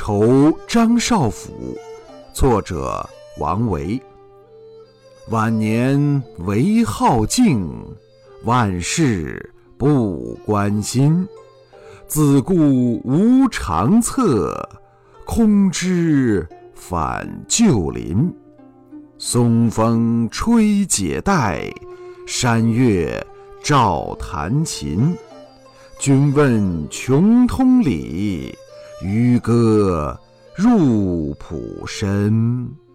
酬张少府，作者王维。晚年唯好静，万事不关心。自顾无长策，空知返旧林。松风吹解带，山月照弹琴。君问穷通理，渔歌入浦深。